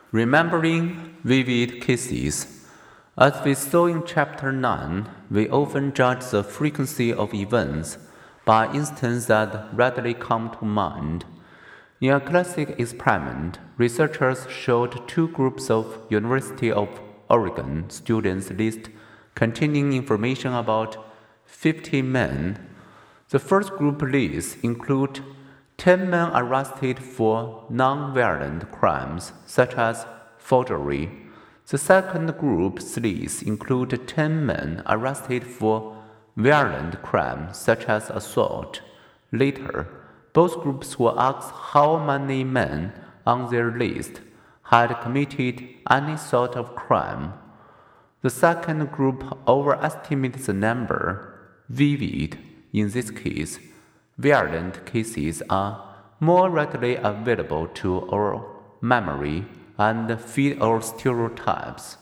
Remembering vivid cases. As we saw in Chapter 9, we often judge the frequency of events by instances that readily come to mind. In a classic experiment, researchers showed two groups of University of Oregon students lists containing information about 50 men. The first group lists include 10 men arrested for non-violent crimes such as forgery. The second group's list include 10 men arrested for violent crimes such as assault. Later, both groups were asked how many men on their list had committed any sort of crime. The second group overestimated the number. Vivid, in this case, violent cases are more readily available to our memory and feed our stereotypes.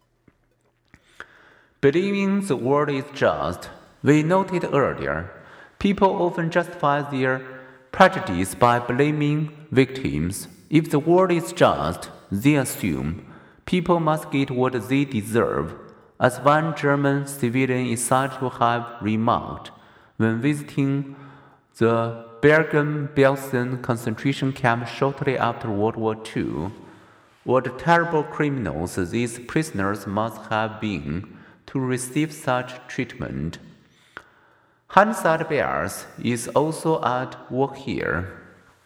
Believing the world is just, we noted earlier, people often justify their prejudice by blaming victims. If the world is just, they assume people must get what they deserve, as one German civilian is said to have remarked when visiting the Bergen-Belsen concentration camp shortly after World War II. What terrible criminals these prisoners must have been to receive such treatment. Hindsight bias is also at work here.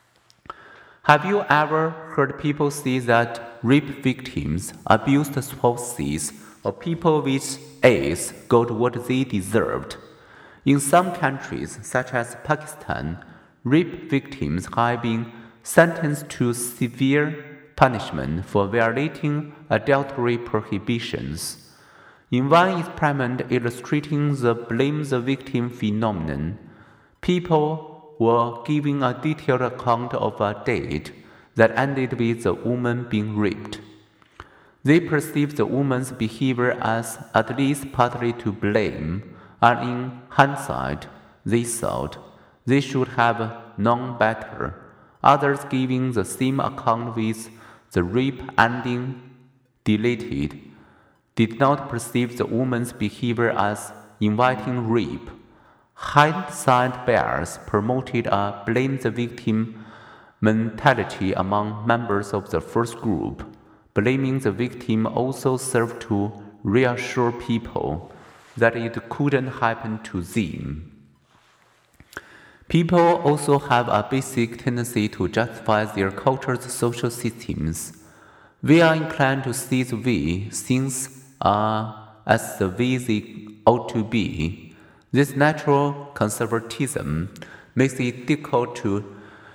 Have you ever heard people say that rape victims, abused spouses, or people with AIDS got what they deserved? In some countries, such as Pakistan, rape victims have been sentenced to severe punishment for violating adultery prohibitions. In one experiment illustrating the blame the victim phenomenon, people were given a detailed account of a date that ended with the woman being raped. They perceived the woman's behavior as at least partly to blame, and in hindsight, they thought they should have known better. Others giving the same account with the rape ending deleted did not perceive the woman's behavior as inviting rape. Hindsight bias promoted a blame the victim mentality among members of the first group. Blaming the victim also served to reassure people that it couldn't happen to them. People also have a basic tendency to justify their culture's social systems. We are inclined to see the way things are as the way they ought to be. This natural conservatism makes it difficult to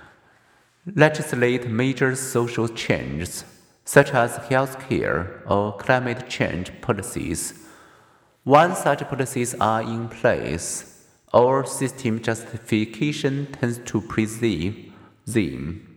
legislate major social changes, such as healthcare or climate change policies. Once such policies are in place, our system justification tends to preserve them.